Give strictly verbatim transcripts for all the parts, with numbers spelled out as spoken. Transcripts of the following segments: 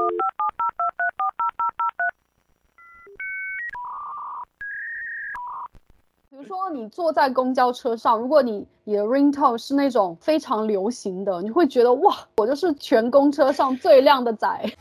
比如说你坐在公交车上，如果你你的 ringtone 是那种非常流行的，你会觉得哇，我就是全公车上最靓的仔。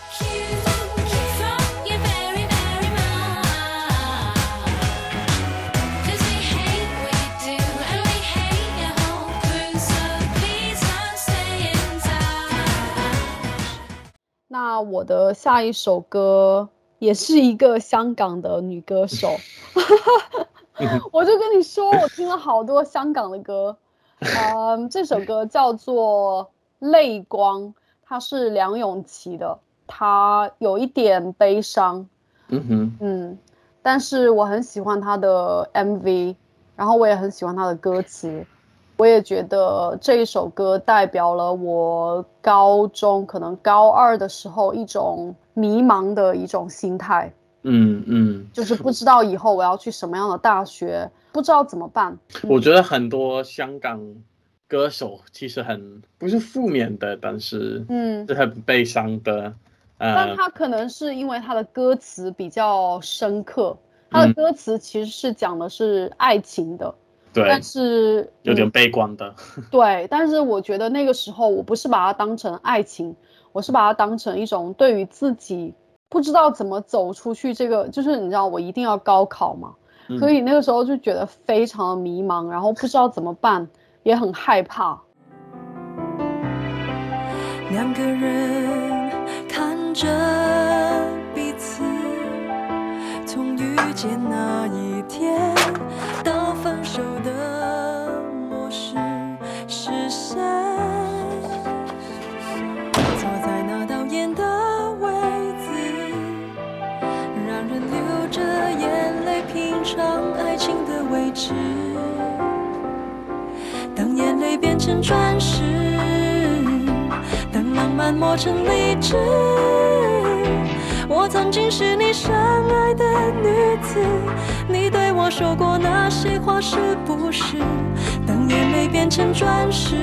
那我的下一首歌也是一个香港的女歌手。我就跟你说，我听了好多香港的歌。嗯，这首歌叫做《泪光》，它是梁咏琪的，它有一点悲伤。 嗯哼， 嗯，但是我很喜欢它的 M V， 然后我也很喜欢它的歌词。我也觉得这一首歌代表了我高中可能高二的时候一种迷茫的一种心态。 嗯嗯， 就是不知道以后我要去什么样的大学，不知道怎么办。 我觉得很多香港歌手其实很不是负面的，但是嗯， 是很悲伤的。呃， 但他可能是因为他的歌词比较深刻，他的歌词其实是讲的是爱情的。 对， 但是有点悲观的。 对，但是我觉得那个时候我不是把它当成爱情，我是把它当成一种对于自己不知道怎么走出去，这个就是你知道我一定要高考嘛， 嗯所以那个时候就觉得非常的迷茫，然后不知道怎么办，也很害怕。 两个人看着彼此，从遇见那一天到分手的模式是谁？坐在那导演的位子，让人流着眼泪品尝爱情的位置。当眼泪变成钻石，当浪漫磨成理智，我曾经是你深爱的女子，你对我说过那些话是不是？当眼泪变成钻石，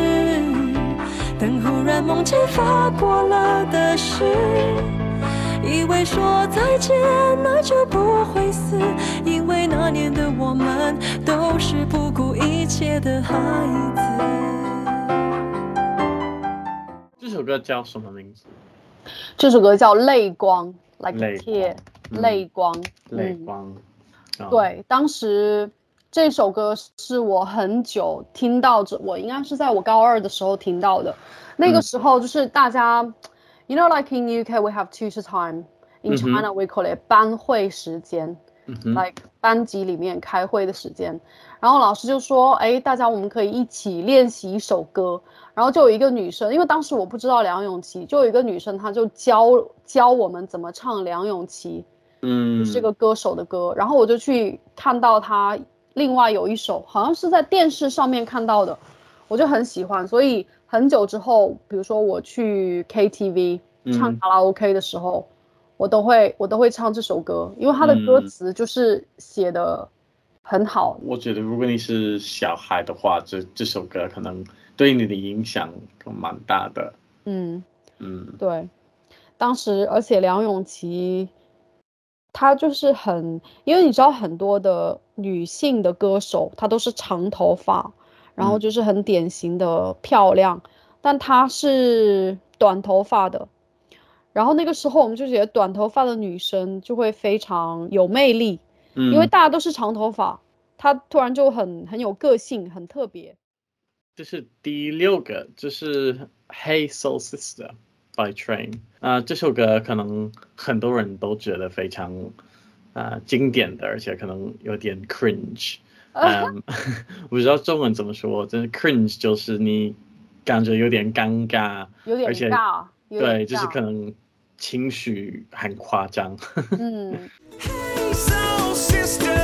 等忽然梦见发过了的事，以为说再见那就不会死，因为那年的我们都是不顾一切的孩子。 这首歌叫什么名字？ 这首歌叫泪光 like 泪 tear 光泪光。 泪光、 嗯哦、对，当时这首歌是我很久听到，我应该是在我高二的时候听到的。那个时候就是大家、嗯、you know like in U K we have tutor time, in China、嗯、we call it 班会时间、嗯、like 班级里面开会的时间，然后老师就说哎，大家我们可以一起练习一首歌，然后就有一个女生，因为当时我不知道梁咏琪，就有一个女生她就教教我们怎么唱梁咏琪嗯，这个歌手的歌，然后我就去看到她另外有一首好像是在电视上面看到的，我就很喜欢，所以很久之后比如说我去 K T V 唱卡拉 OK 的时候、嗯、我都会我都会唱这首歌，因为它的歌词就是写的很好、嗯、 我觉得如果你是小孩的话，这这首歌可能对你的影响蛮大的。 嗯嗯，对，当时而且梁咏琪她就是很，因为你知道很多的女性的歌手她都是长头发，然后就是很典型的漂亮、嗯、但她是短头发的，然后那个时候我们就觉得短头发的女生就会非常有魅力、嗯、因为大家都是长头发，她突然就很很有个性，很特别。 这是第六个，这是 Hey Soul Sister by Train、呃、这首歌可能很多人都觉得非常、呃、经典的，而且可能有点 cringe、嗯、我不知道中文怎么说，真的 cringe 就是你感觉有点尴尬， 有点尬，有点对，就是可能情绪很夸张。 嗯 Hey Soul Sister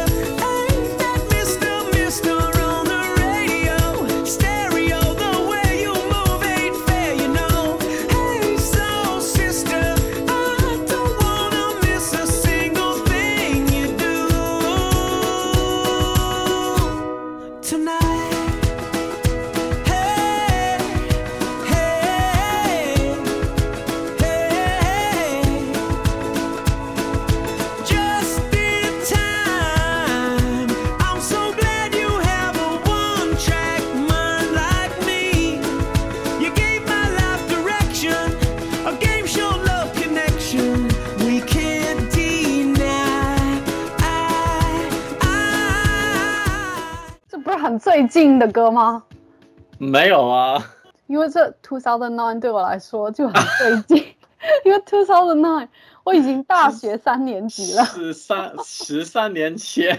最近的歌吗？ 没有啊， 因为这二零零九对我来说就很最近，因为二零零九我已经大学三年级了， 十三十三年前，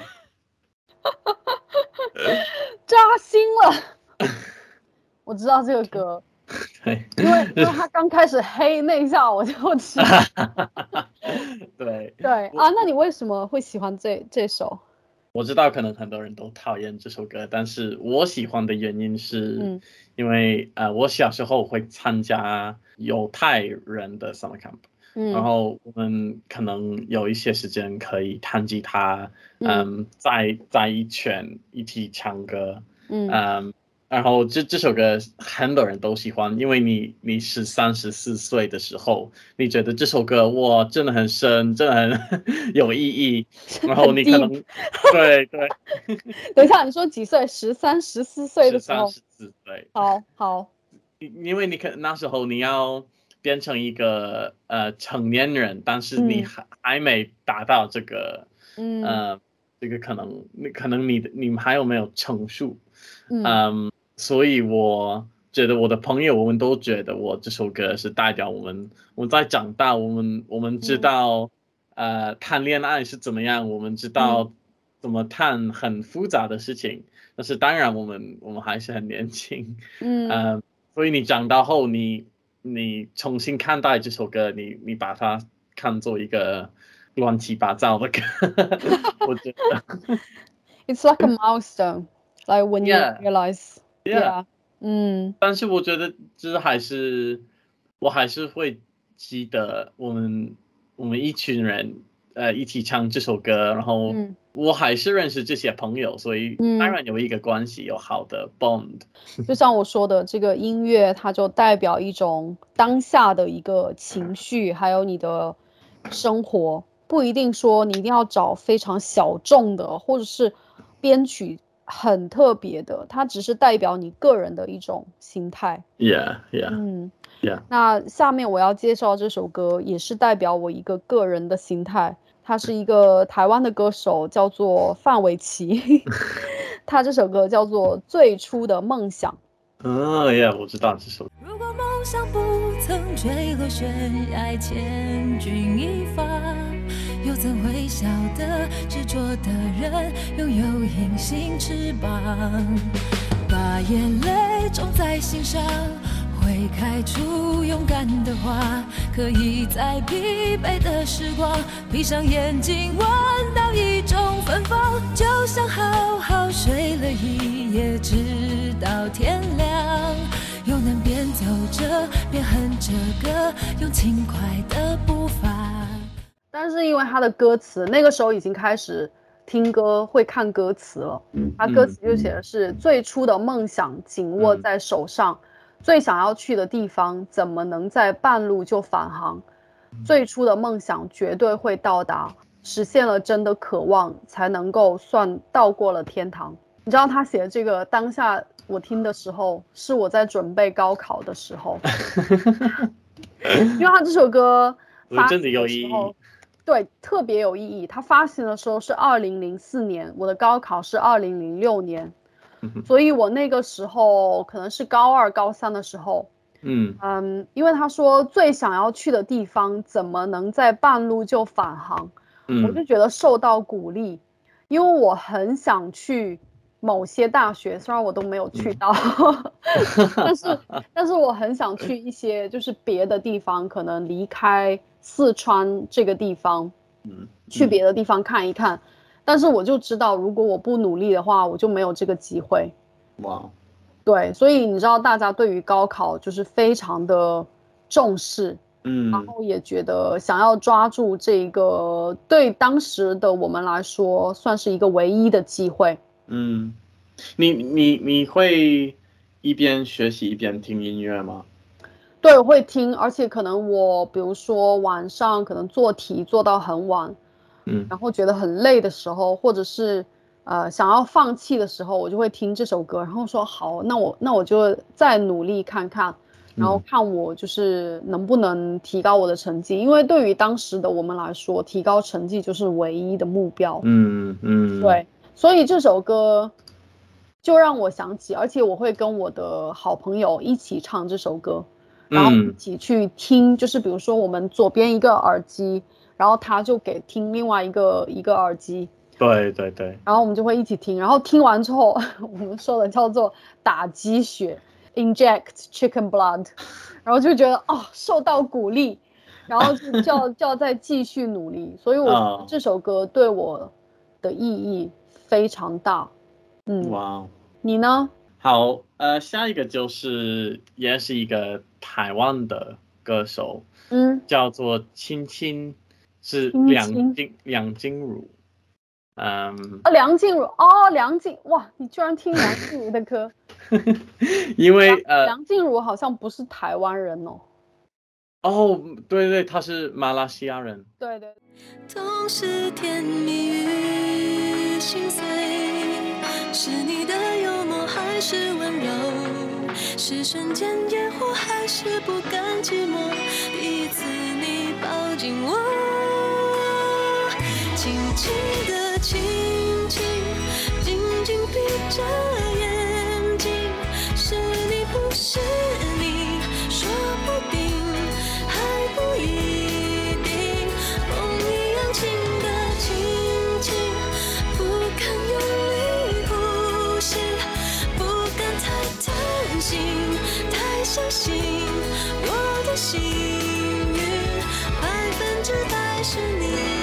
扎心了。我知道这个歌， 对， 因为因为他刚开始黑那一下我就知道。 对对啊，那你为什么会喜欢这这首？ 我知道可能很多人都讨厌这首歌，但是我喜欢的原因是嗯因为、呃，我小时候会参加犹太人的 summer camp，、 嗯然后我们可能有一些时间可以弹吉他， 嗯嗯，在在一圈一起唱歌， 嗯嗯，然后这这首歌很多人都喜欢，因为你你十三十四岁的时候，你觉得这首歌哇真的很深，真的很有意义，然后很你可能 deep。 对对， 等一下，你说几岁？十三、十四岁的十三时候？ 十四岁， 好好， 因为你可那时候你要变成一个呃成年人，但是你嗯还还没达到这个嗯呃这个可能你可能你的你们还有没有成熟， 嗯嗯，所以我觉得我的朋友我们都觉得我这首歌是代表我们我们在长大，我们我们知嗯道呃谈恋爱是怎么样，我们知嗯道怎么谈很复杂的事情，但是当然我们我们还是很年轻， 嗯， 呃，所以你长大后你你重新看待这首歌，你你把它看作一个乱七八糟的歌，我觉得 It's like a milestone, like when you Yeah, realize, yeah. yeah，嗯但是我觉得就是还是我还是会记得我们我们一群人呃一起唱这首歌，然后嗯我还是认识这些朋友，所以当嗯， 然有一个关系，有好的 bond。 就像我说的，这个音乐它就代表一种当下的一个情绪，还有你的生活，不一定说你一定要找非常小众的，或者是编曲很特别的，它只是代表你个人的一种心态。 Yeah, yeah, 嗯， yeah. 那下面我要介绍这首歌，也是代表我一个个人的心态。他是一个台湾的歌手，叫做范玮琪。他这首歌叫做《最初的梦想》。 哦，Yeah，我知道这首。 如果梦想不曾坠落悬崖，千钧一发，又怎会晓得执着的人拥有隐形翅膀？把眼泪种在心上，会开出勇敢的花，可以在疲惫的时光闭上眼睛，闻到一种芬芳，就像好好睡了一夜，直到天亮，又能边走着边哼着歌，用轻快的步伐。 但是因为他的歌词，那个时候已经开始听歌会看歌词了，他歌词就写的是最初的梦想紧握在手上，最想要去的地方怎么能在半路就返航？最初的梦想绝对会到达，实现了真的渴望，才能够算到过了天堂。你知道他写的这个当下，我听的时候是我在准备高考的时候，因为他这首歌发行真的有的时候意义。 对，特别有意义。它发行的时候是二零零四年，我的高考是二零零六年，所以我那个时候可能是高二、高三的时候， 嗯嗯，因为他说最想要去的地方怎么能在半路就返航，我就嗯觉得受到鼓励，因为我很想去某些大学，虽然我都没有去到，但是但是我很想去一些就是别的地方，可能离开四川这个地方， 嗯， 去别的地方看一看。但是我就知道，如果我不努力的话，我就没有这个机会。 哇， 对，所以你知道，大家对于高考就是非常的重视，然嗯后也觉得想要抓住这个对当时的我们来说算是一个唯一的机会。 嗯，你你你会一边学习一边听音乐吗？ 对，我会听，而且可能我比如说晚上可能做题做到很晚， 嗯然后觉得很累的时候，或者是呃想要放弃的时候，我就会听这首歌，然后说好，那我那我就再努力看看，然后看我就是能不能提高我的成绩，因为对于当时的我们来说，提高成绩就是唯一的目标。 嗯嗯， 对，所以这首歌就让我想起，而且我会跟我的好朋友一起唱这首歌，然后一起去听，嗯、就是比如说我们左边一个耳机，然后他就给听另外一个一个耳机， 对对对， 然后我们就会一起听，然后听完之后，我们说的叫做打鸡血 ，inject chicken blood， 然后就觉得哦受到鼓励，然后就就要就要再继续努力，所以我觉得这首歌对我的意义非常大。嗯， 哇， 你呢？ 好，呃，下一个就是也是一个台湾的歌手， 嗯， 叫做青青，是青梁青静梁静茹，嗯， 啊，梁静茹哦，梁静，哇，你居然听梁静茹的歌？ 因为呃， 梁静茹好像不是台湾人哦。 哦，对对，他是马来西亚人。 对对。 总是甜蜜与心碎，是你的幽默还是温柔？是瞬间烟火还是不甘寂寞？第一次你抱紧我，轻轻的亲亲，紧紧闭着眼睛，是你不是你，说不定还不一定，梦一样轻的轻轻，不敢用力呼吸，不敢太贪心，太相信我的幸运，百分之百是你。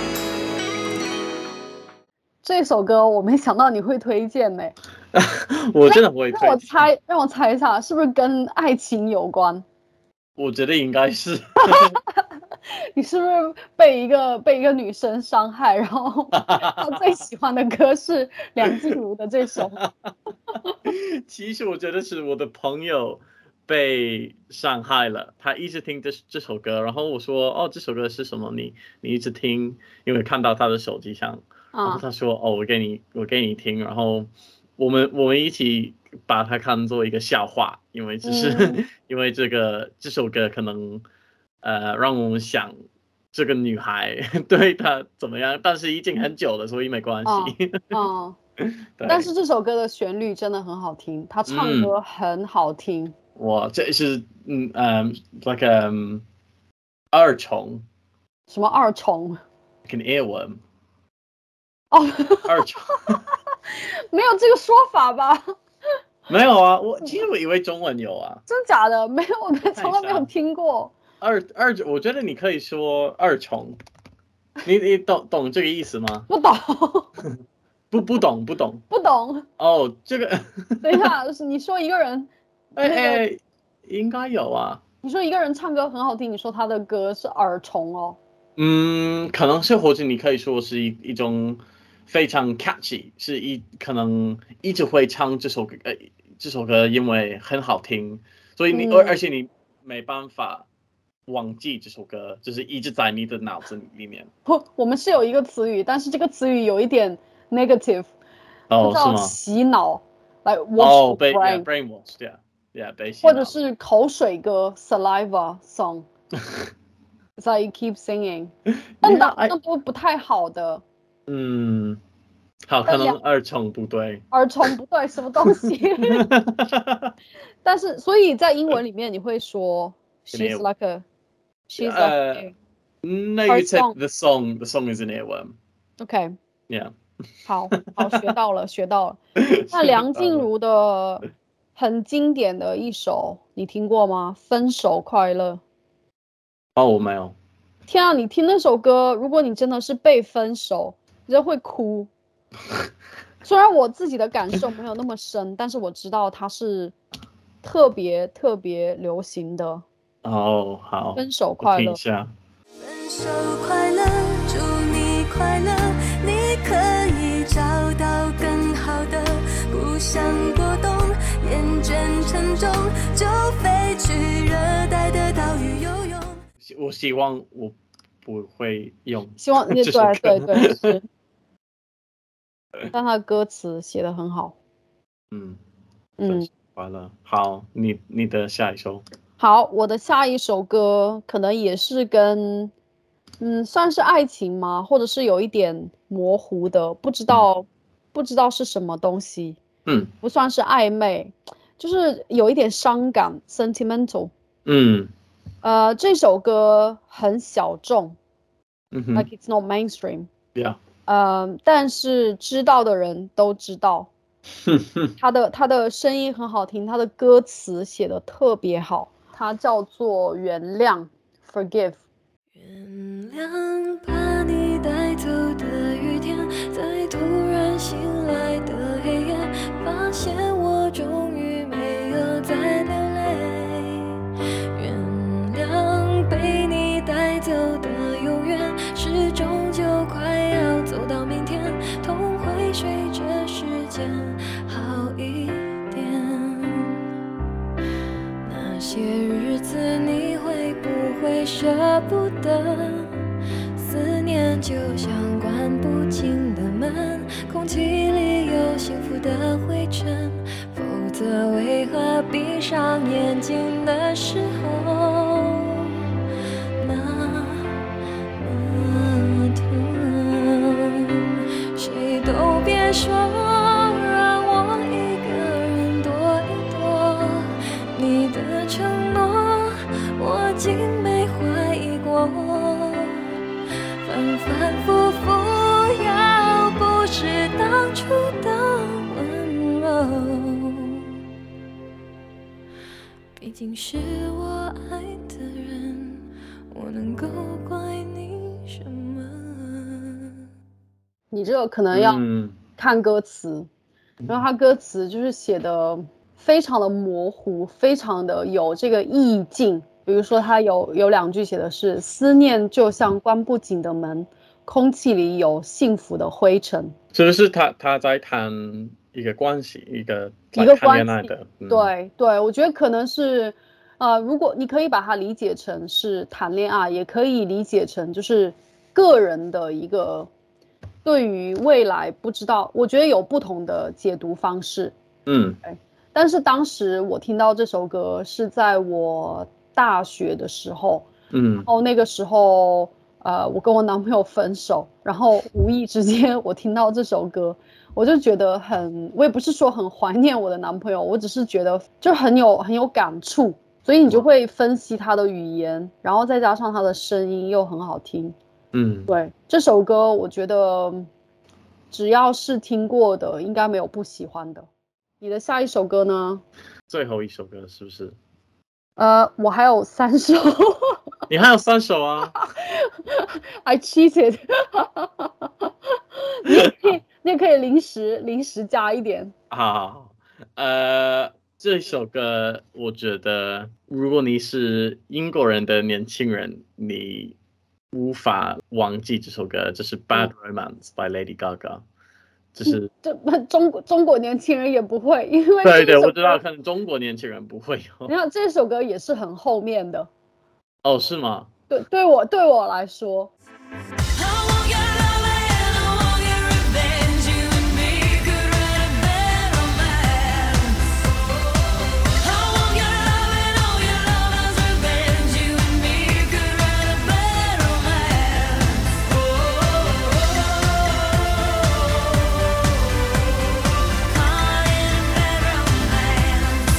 这首歌我没想到你会推荐呢、 我真的不会推荐。 让我猜，让我猜一下，是不是跟爱情有关？ 我觉得应该是。 你是不是被一个被一个女生伤害，然后他最喜欢的歌是梁静茹的这首？ 其实我觉得是我的朋友被伤害了，他一直听这这首歌，然后我说哦这首歌是什么？你你一直听，因为看到他的手机上，然后他说哦我给你我给你听，然后我们我们一起把它看作一个笑话，因为只是、嗯、因为这个这首歌可能呃让我们想这个女孩对她怎么样，但是已经很久了，所以没关系。 嗯，嗯但是这首歌的旋律真的很好听，他唱歌很好听。嗯、 哇，这是嗯嗯 like um 二重。 什么二重 ？Like an earworm。 哦， 二重。 没有这个说法吧？ 没有啊，我其实我以为中文有啊。 真假的？没有，我从来没有听过。 二二，我觉得你可以说二重。你你懂懂这个意思吗？ 不懂。 不不懂不懂不懂。 哦，这个。 等一下，你说一个人， 哎哎、那個，应该有啊。 你说一个人唱歌很好听，你说他的歌是耳虫哦。 嗯，可能是或者你可以说是一一种非常 catchy， 是一可能一直会唱这首歌，呃，这首歌因为很好听，所以你、嗯、而而且你没办法忘记这首歌，就是一直在你的脑子里面。 不，我们是有一个词语，但是这个词语有一点 negative， 哦， 叫洗脑，来 wash 哦，被 brain， brainwash， 对啊，对啊，被洗脑。 或者是口水歌 saliva song。It's like you keep singing， 但那那都不太好的。 嗯，好，可能二重不对。 二重不对，什么东西？但是，所以在英文里面你会说 she's like a she's like a no you take the song the song is an earworm. OK yeah 好好学到了学到了。那梁静茹的很经典的一首你听过吗？分手快乐。 哦，我没有。 天啊，你听那首歌，如果你真的是被分手，你就会哭。虽然我自己的感受没有那么深，但是我知道它是特别特别流行的。 哦，好， 分手快乐。 听一下。 分手快乐，祝你快乐，你可以找到更好的，不想过冬，厌倦沉重，就飞去热带的岛屿游泳。 我希望我不会用， 希望你对对对是，但他的歌词写得很好。 嗯嗯，完了，好，你你的下一首。 好，我的下一首歌可能也是跟嗯算是爱情吗？或者是有一点模糊的，不知道、嗯、不知道是什么东西。 嗯不算是暧昧，就是有一点伤感 sentimental。 嗯呃，这首歌很小众嗯哼 ，like it's not mainstream。 ，Yeah， 呃，但是知道的人都知道， 哼哼， 他的他的声音很好听，他的歌词写的特别好，它叫做原谅 forgive。 原谅把你带走的雨天，在突然醒来的黑夜，发现我终于没有再流泪。原谅被你带走的永远，是终究快要走到明天，痛会随着时间好一点。那些日子你会不会舍不得？思念就像关不紧的门，空气里有幸福的灰尘，否则为何闭上眼睛的时候那么疼？谁都别说让我一个人躲一躲，你的承诺我竟没怀疑过，反反复复要不是当初的温柔，毕竟是我爱的人，我能够怪你什么？ 你这个可能要嗯看歌词，然后他歌词就是写的非常的模糊，非常的有这个意境。比如说他有有两句写的是思念就像关不紧的门，空气里有幸福的灰尘。 是不是他他在谈一个关系，一个一个谈恋关系爱的？嗯、 对对，我觉得可能是呃，如果你可以把它理解成是谈恋爱，也可以理解成就是个人的一个对于未来不知道，我觉得有不同的解读方式。 嗯但是当时我听到这首歌是在我大学的时候， 嗯然后那个时候呃，我跟我男朋友分手，然后无意之间我听到这首歌，我就觉得很，我也不是说很怀念我的男朋友，我只是觉得就很有很有感触，所以你就会分析他的语言，然后再加上他的声音又很好听。 嗯， 对，这首歌我觉得只要是听过的，应该没有不喜欢的。你的下一首歌呢？ 最后一首歌是不是？ 呃，我还有三首。 你还有三首啊 I cheated 你也可以，你也可以临时临时加一点。 好，呃，这首歌我觉得，如果你是英国人的年轻人，你无法忘记这首歌，这是《Bad Romance》by Lady Gaga。就是这中国中国年轻人也不会，因为对对， 这首我知道， 歌可能中国年轻人不会有。 你看这首歌也是很后面的， 哦，是吗？ 对，对我对我来说， I want your love and I want your revenge. You and me could write a bad romance. I want your love and all your lovers' revenge. You and me could write a bad romance. Caught in a bad romance.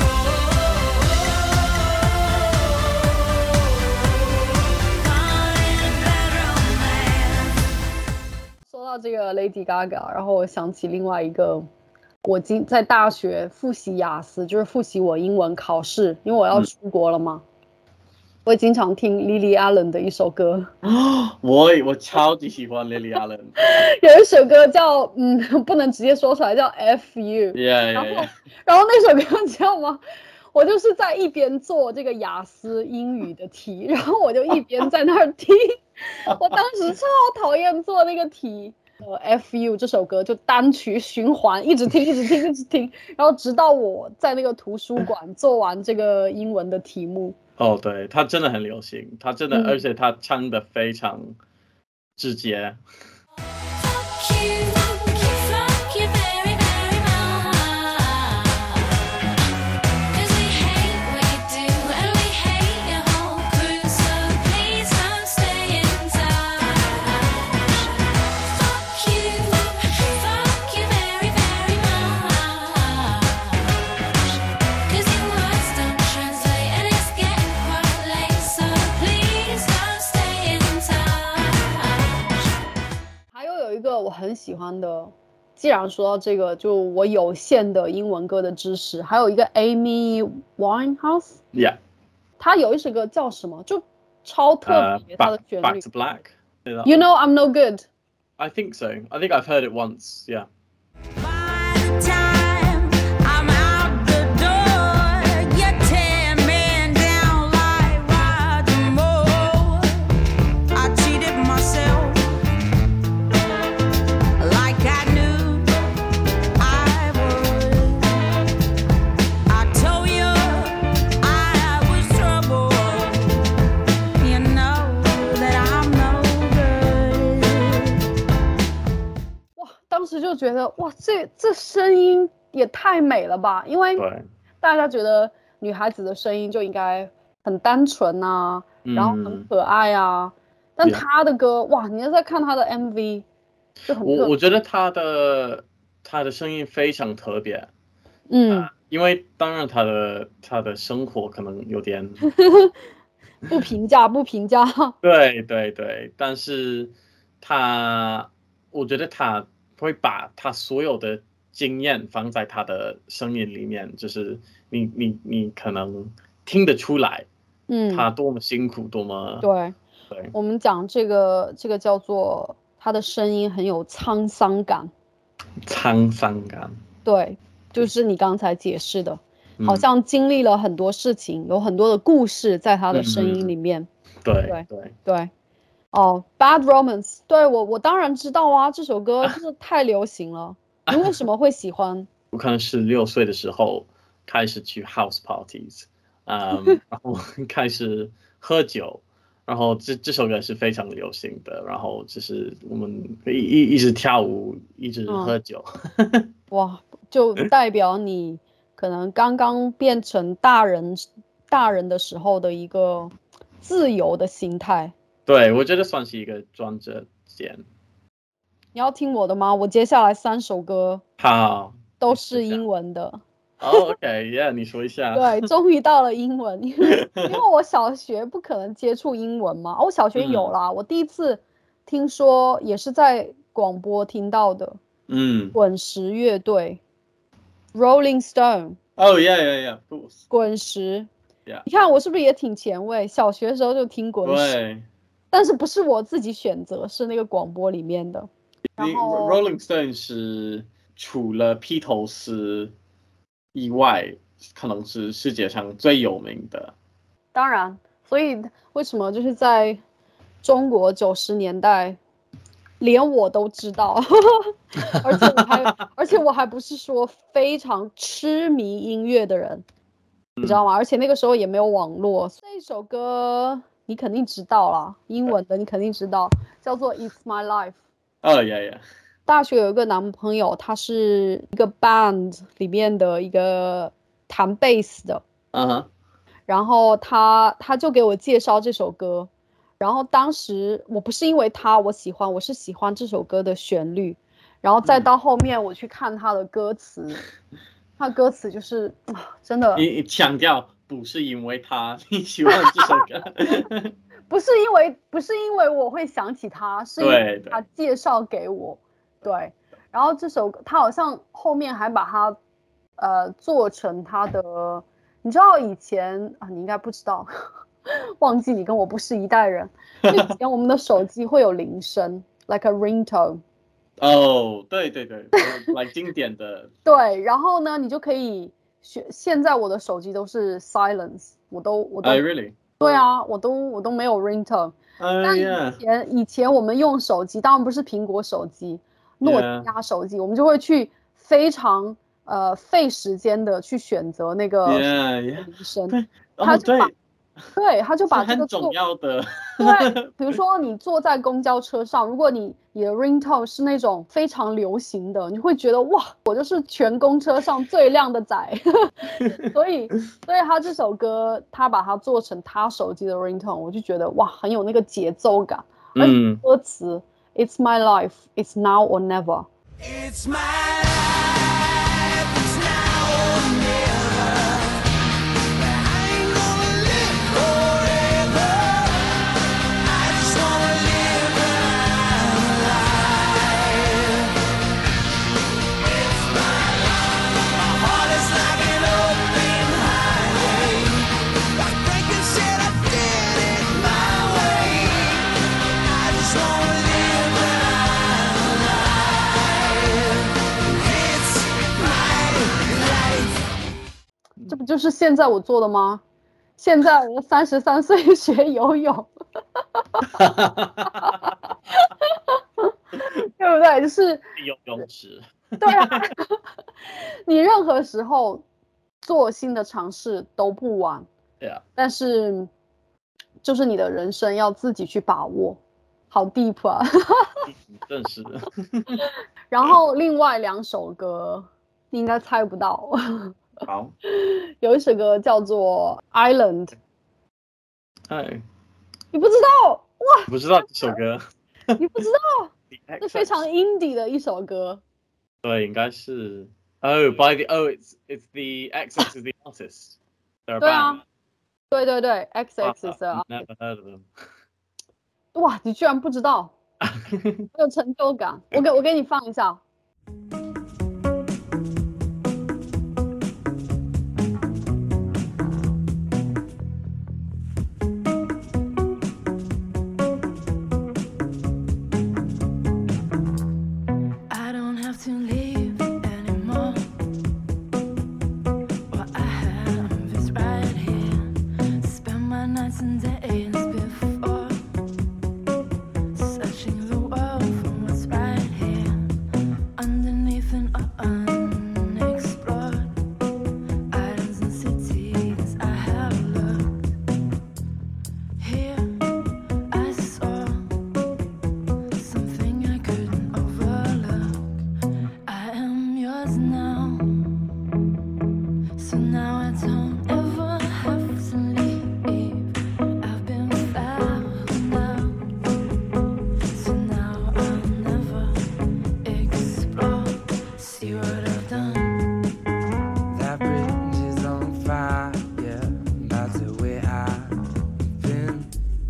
Caught in a bad romance. 说到这个 Lady Gaga， 然后我想起另外一个，我今在大学复习雅思，就是复习我英文考试，因为我要出国了嘛，我也经常听 Lily Allen 的一首歌， 我我超级喜欢 Lily Allen。 有一首歌叫嗯，不能直接说出来，叫 F You。 Yeah 然 yeah 后 yeah。 然后那首歌你知道吗？我就是在一边做这个雅思英语的题，然后我就一边在那儿听。我当时超讨厌做那个题。呃，F You 这首歌就单曲循环，一直听，一直听，一直听，然后直到我在那个图书馆做完这个英文的题目。 哦，对，他真的很流行，他真的， 嗯而且他唱的非常直接。 Fuck you, fuck you very, very much. 'Cause we hate what you do and we hate your whole crew, so please don't stay in touch. Fuck you, fuck you very, very much. 很喜欢的，既然说到这个，就我有限的英文歌的知识，还有一个 Amy Winehouse， Yeah， 她有一首歌叫什么，就超特别，她、uh, 的旋律。 Back to Black。 You know I'm no good. I think so. I think I've heard it once. Yeah. 哇，当时就觉得哇，这这声音也太美了吧！因为大家觉得女孩子的声音就应该很单纯啊， 嗯、 然后很可爱啊。但她的歌，哇，你要在看她的 M V， 就很我我觉得她的她的声音非常特别。 嗯、 呃，因为当然她的她的生活可能有点不评价不评价。 对对对，但是她，我觉得她会把她所有的经验放在她的声音里面，就是你你你可能听得出来， 嗯， 她多么辛苦，多么对对。 我们讲这个这个叫做她的声音很有沧桑感。 沧桑感。 对，就是你刚才解释的，嗯、好像经历了很多事情，有很多的故事在她的声音里面。 嗯、对对对对。哦 ，Bad Romance， 对我我当然知道啊，这首歌就是太流行了。你为什么会喜欢？ 我可能十六岁的时候开始去 house parties， 嗯，然后开始喝酒，然后这这首歌是非常流行的，然后就是我们一一一直跳舞，一直喝酒。 嗯、哇，就代表你可能刚刚变成大人大人的时候的一个自由的心态。 对，我觉得算是一个转折点。 你要听我的吗？我接下来三首歌好都是英文的。 Oh, OK, yeah， 你说一下。 对，终于到了英文，因为因为我小学不可能接触英文嘛，我小学有啦，嗯、我第一次听说也是在广播听到的。 嗯， 滚石乐队 ，Rolling Stone。Oh yeah, yeah, yeah, of course。 滚石。 Yeah。 你看我是不是也挺前卫？小学的时候就听滚石。 对。 但是不是我自己选择，是那个广播里面的。然后 Rolling Stone 是除了披头士以外，可能是世界上最有名的。 当然，所以为什么就是在中国九十年代，连我都知道，而且我还而且我还不是说非常痴迷音乐的人，嗯、你知道吗？而且那个时候也没有网络。这一首歌你肯定知道啦，英文的你肯定知道，叫做 It's My Life。 哦、oh, yeah, yeah。 大学有一个男朋友，他是一个 band 里面的一个弹贝斯的， 嗯哼， 然后他他就给我介绍这首歌，然后当时我不是因为他我喜欢，我是喜欢这首歌的旋律，然后再到后面我去看他的歌词，嗯、他的歌词就是啊，真的， 你强调不是因为他你喜欢这首歌， 不是因为不是因为我会想起他，是因为他介绍给我。对，然后这首他好像后面还把它呃做成他的，你知道以前啊，你应该不知道，忘记你跟我不是一代人。以前我们的手机会有铃声 ，like a ringtone。 哦，对对对，来经典的。 对，然后呢，你就可以选。现在我的手机都是 silence， 我都我都。 I really？ 对啊，我都我都没有 ringtone。但以前以前我们用手机，当然不是苹果手机。诺基亚手机， yeah. 我们就会去非常呃费时间的去选择那个铃声， yeah, yeah. 他就把、哦、对, 对，他就把这个很重要的， 对，比如说你坐在公交车上，如果你你的 ringtone 是那种非常流行的，你会觉得哇，我就是全公车上最靓的仔，所以所以他这首歌他把它做成他手机的 ringtone， 我就觉得哇，很有那个节奏感，而且歌词。嗯It's my life. It's now or never. It's my life. It's now or never. I ain't gonna live forever. I just wanna live my life. 就是现在我做的吗？现在我三十三岁学游泳，对不对？就是游泳池。 对啊，你任何时候做新的尝试都不晚。 对啊， 但是就是你的人生要自己去把握，好 deep 啊。 真是的。 然后另外两首歌你应该猜不到， 好， 有一首歌叫做 Island， 哎， 你不知道哇？ 不知道这首歌。 你不知道？这非常 indie 的一首歌。 对，应该是 Oh by the Oh it's it's the X X is the artist. They're a 对啊 band. 对对对 X X is the I've artist. never heard of them. 哇，你居然不知道，我有成就感。我给我给你放一下。 I don't have to leave anymore. What I have is right here. Spend my nights and days before searching the world for what's right here underneath and unexplored islands and cities I have looked. Here I saw something I couldn't overlook. I am yours now, so now I don't ever have to leave. I've been found out, so now I'll never explore. See what I've done. That bridge is on fire, that's the way I've been.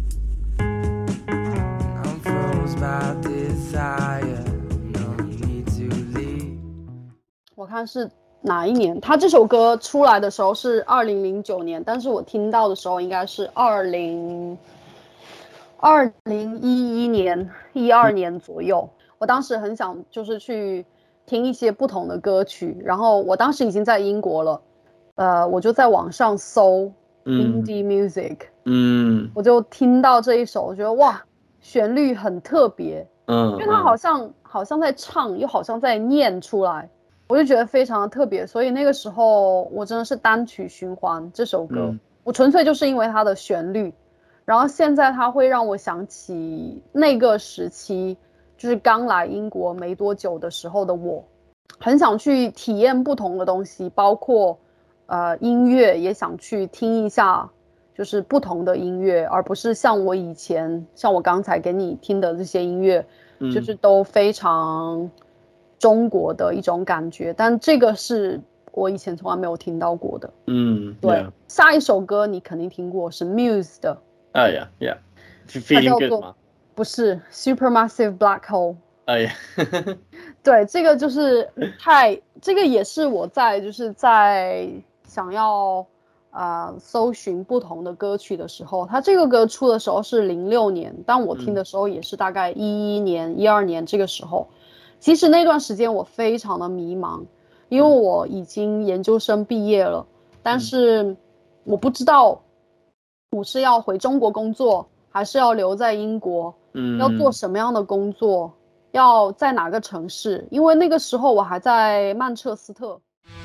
I'm froze by desire, no need to leave. 我看是哪一年？他这首歌出来的时候是二零零九年，但是我听到的时候应该是二零二零一一年、一二年左右。我当时很想就是去听一些不同的歌曲，然后我当时已经在英国了，呃，我就在网上搜 indie music， 嗯我就听到这一首，我觉得哇，旋律很特别， 嗯， 因为它好像好像在唱，又好像在念出来，我就觉得非常的特别，所以那个时候我真的是单曲循环这首歌， 嗯我纯粹就是因为它的旋律，然后现在它会让我想起那个时期，就是刚来英国没多久的时候的我，很想去体验不同的东西，包括呃音乐，也想去听一下就是不同的音乐，而不是像我以前像我刚才给你听的这些音乐， 嗯就是都非常中国的一种感觉，但这个是我以前从来没有听到过的。 嗯， 对 yeah. 下一首歌你肯定听过，是 Muse 的， Oh yeah, yeah. 它 Feeling 叫 good 做吗？ 不是 Supermassive Black Hole。 Oh yeah. 对，这个就是太，这个也是我在就是在想要呃搜寻不同的歌曲的时候，它这个歌出的时候是零六年，但我听的时候也是大概一一年、一二年这个时候。其实那段时间我非常的迷茫，因为我已经研究生毕业了，但是我不知道我是要回中国工作，还是要留在英国， 嗯， 要做什么样的工作。要在哪个城市？因为那个时候我还在曼彻斯特。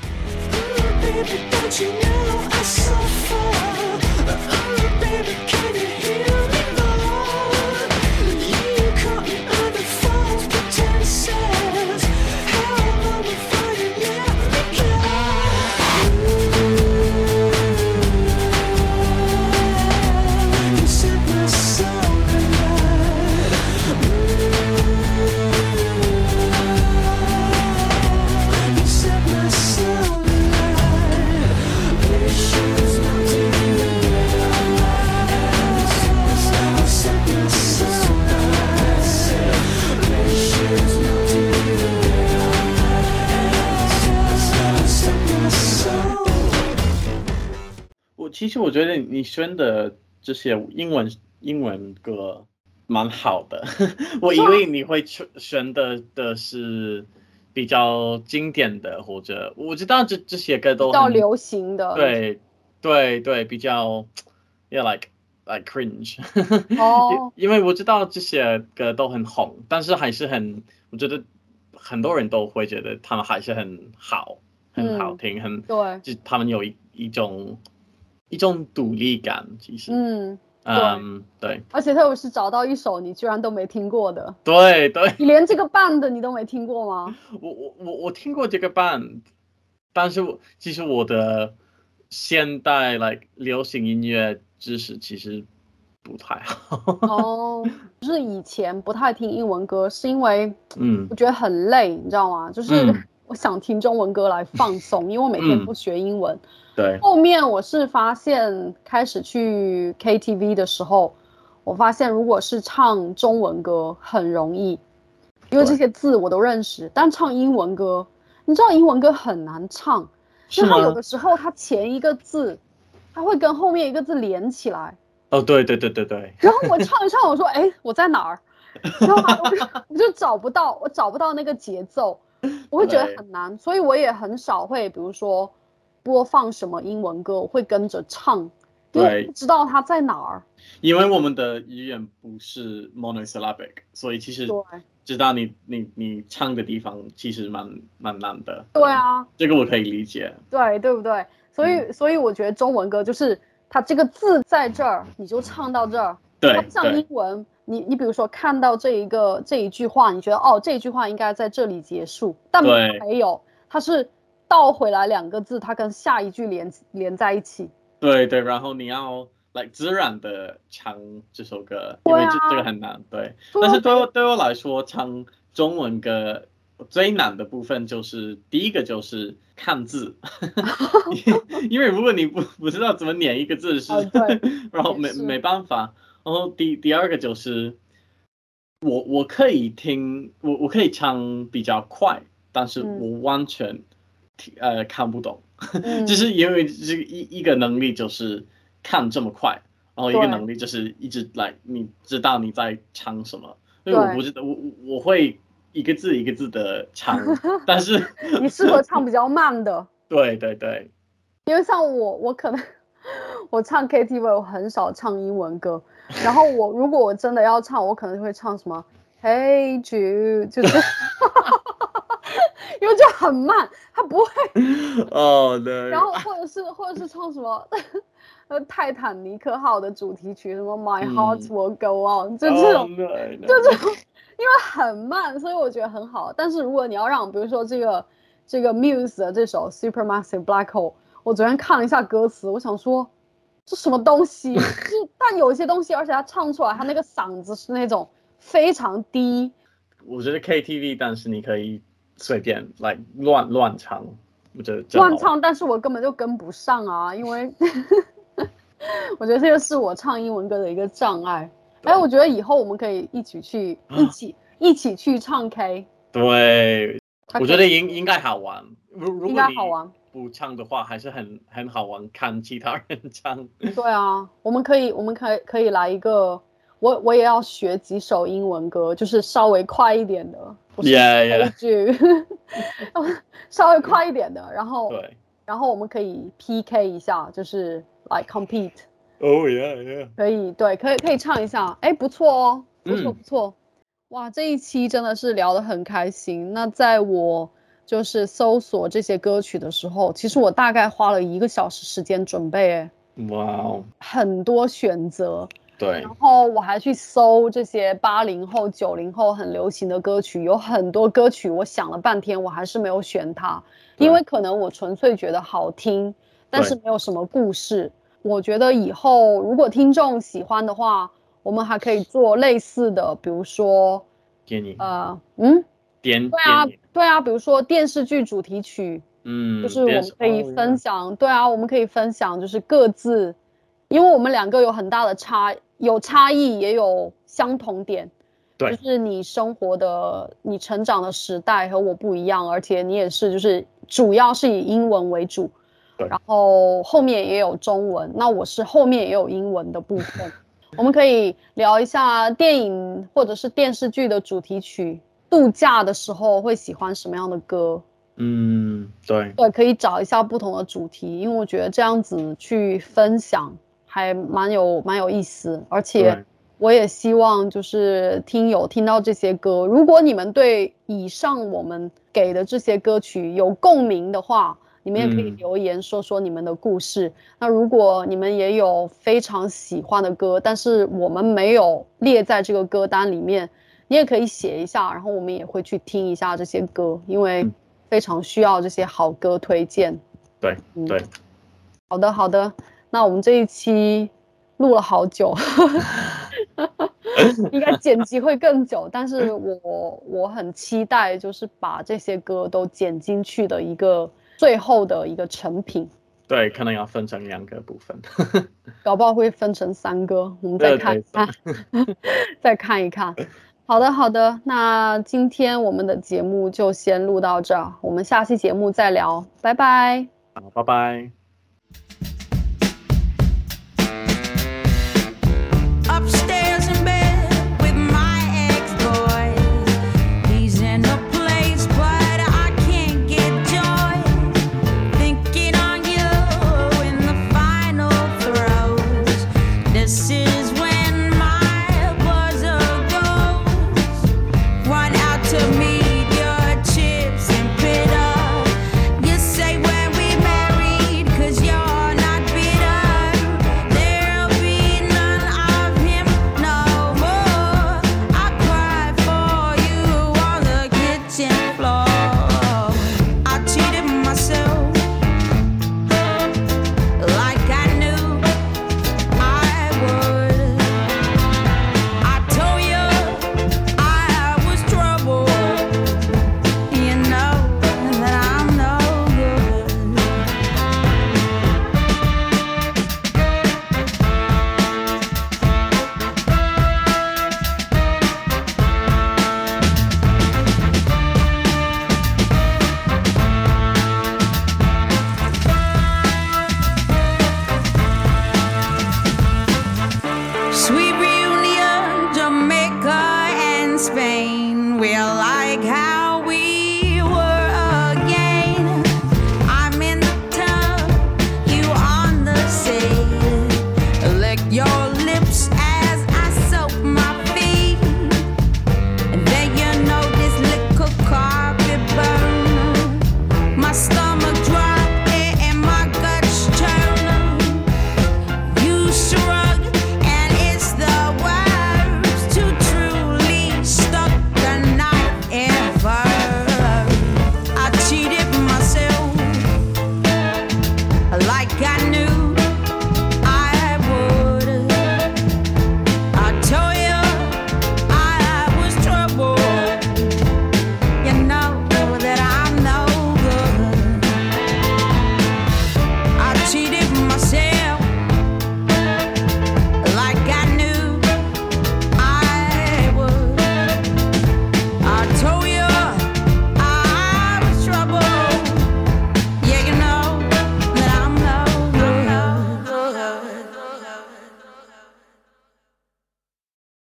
其实我觉得你选的这些英文英文歌蛮好的，我以为你会选的的是比较经典的，或者我知道这这些歌都很比较流行的。 对对对，比较 yeah like like cringe 哦， 因因为我知道这些歌都很红，但是还是很，我觉得很多人都会觉得他们还是很好，很好嗯， 听，很对， 就他们有一一种一种独立感，其实， 嗯，对， 嗯，对而且特别是找到一首你居然都没听过的， 对对， 你连这个 band 你都没听过吗？ 我我我我听过这个 band，但是我其实我的现代 like 流行音乐知识其实不太好。 哦，就是以前不太听英文歌，是因为嗯我觉得很累，你知道吗？就是嗯我想听中文歌来放松，因为我每天嗯， 都学英文。 对后面我是发现，开始去 K T V 的时候，我发现如果是唱中文歌很容易，因为这对， 些字我都认识，但唱英文歌，你知道英文歌很难唱，因是吗？ 为它有的时候它前一个字，它会跟后面一个字连起来。 哦，对对对对对， 然后我唱一唱，我说：“哎，我在哪儿？”然后我就我就找不到，我找不到那个节奏，我会觉得对很难，所以我也很少会，比如说播放什么英文歌，我会跟着唱，因为我不对， 知道它在哪儿。 因为我们的语言不是 monosyllabic，所以其实对知道你你你唱的地方其实蛮蛮难的。 对啊， 这个我可以理解。 对对不对？所以、 嗯所以我觉得中文歌就是它这个字在这儿，你就唱到这儿。它对不像英对文，你你比如说看到这一个这一句话，你觉得哦这一句话应该在这里结束，但对没有，它是倒回来两个字，它跟下一句连连在一起。 对对，然后你要来自然的唱这首歌，因为这这个很难。对，但是对我对我来说，唱中文歌最难的部分就是第一个就是看字，因为如果你不不知道怎么念一个字是， 哦对然后也是没没办法。然后第第二个就是我我可以听我我可以唱比较快，但是嗯我完全听呃看不懂， 嗯就是因为这个一一个能力就是看这么快，然后一个对能力就是一直来你知道你在唱什么，因为我对不知道我我我会一个字一个字的唱，但是你适合唱比较慢的， 对对对因为像我我可能我唱 K T V 我很少唱英文歌，然后我如果我真的要唱，我可能会唱什么 Hey Jude，就是因为就很慢，它不会。 哦对， 然后或者是或者是唱什么呃泰坦尼克号的主题曲，什么 My Heart 嗯 Will Go On，就这种， 哦对就对这种，因为很慢，所以我觉得很好。但是如果你要让，比如说这个这个 Muse 的这首 Supermassive Black Hole，我昨天看了一下歌词，我想说这什么东西？就是但有一些东西，而且他唱出来，他那个嗓子是那种非常低。 我觉得 K T V， 但是你可以随便来乱乱唱，我觉得真好乱唱，但是我根本就跟不上啊，因为我觉得这个是我唱英文歌的一个障碍。哎，我觉得以后我们可以一起去，一起一起去唱 K， 对， 它可以我觉得应应该好玩。如如应果你该好玩。 不唱的话，还是很很好玩，看其他人唱。 对啊，我们可以，我们可以可以来一个，我我也要学几首英文歌，就是稍微快一点的，不是 Yeah, yeah. 句，稍微快一点的，然后对然后我们可以 P K 一下，就是 like compete。 ，Oh yeah, yeah. 可以，对，可以可以唱一下，哎，不错哦，不错嗯不错，哇，这一期真的是聊得很开心。那在我就是搜索这些歌曲的时候，其实我大概花了一个小时时间准备，哎， 哇哦， 很多选择， 对然后我还去搜这些八零后、九零后很流行的歌曲，有很多歌曲我想了半天，我还是没有选它， 对因为可能我纯粹觉得好听，但是对没有什么故事。我觉得以后如果听众喜欢的话，我们还可以做类似的，比如说， 电影， 呃，嗯， 电对啊电影， 对啊，比如说电视剧主题曲， 嗯， 就是我电视们可以哦分享，对啊，我们可以分享，就是各自，因为我们两个有很大的差，有差异，也有相同点， 对就是你生活的、你成长的时代和我不一样，而且你也是，就是主要是以英文为主， 对然后后面也有中文，那我是后面也有英文的部分，我们可以聊一下电影或者是电视剧的主题曲， 度假的时候会喜欢什么样的歌。 嗯，对， 对，可以找一下不同的主题，因为我觉得这样子去分享还蛮有蛮有意思，而且对， 我也希望就是听友听到这些歌，如果你们对以上我们给的这些歌曲有共鸣的话，你们也可以嗯留言说说你们的故事。那如果你们也有非常喜欢的歌，但是我们没有列在这个歌单里面，你也可以写一下，然后我们也会去听一下这些歌，因为嗯非常需要这些好歌推荐。 对嗯， 对， 好的好的，那我们这一期录了好久，应该剪辑会更久，但是我我很期待，就是把这些歌都剪进去的一个最后的一个成品， 对，可能要分成两个部分。 搞不好会分成三个，我们再对对看一看，再看一看。好的好的，那今天我们的节目就先录到这儿，我们下期节目再聊，拜拜。 好，拜拜。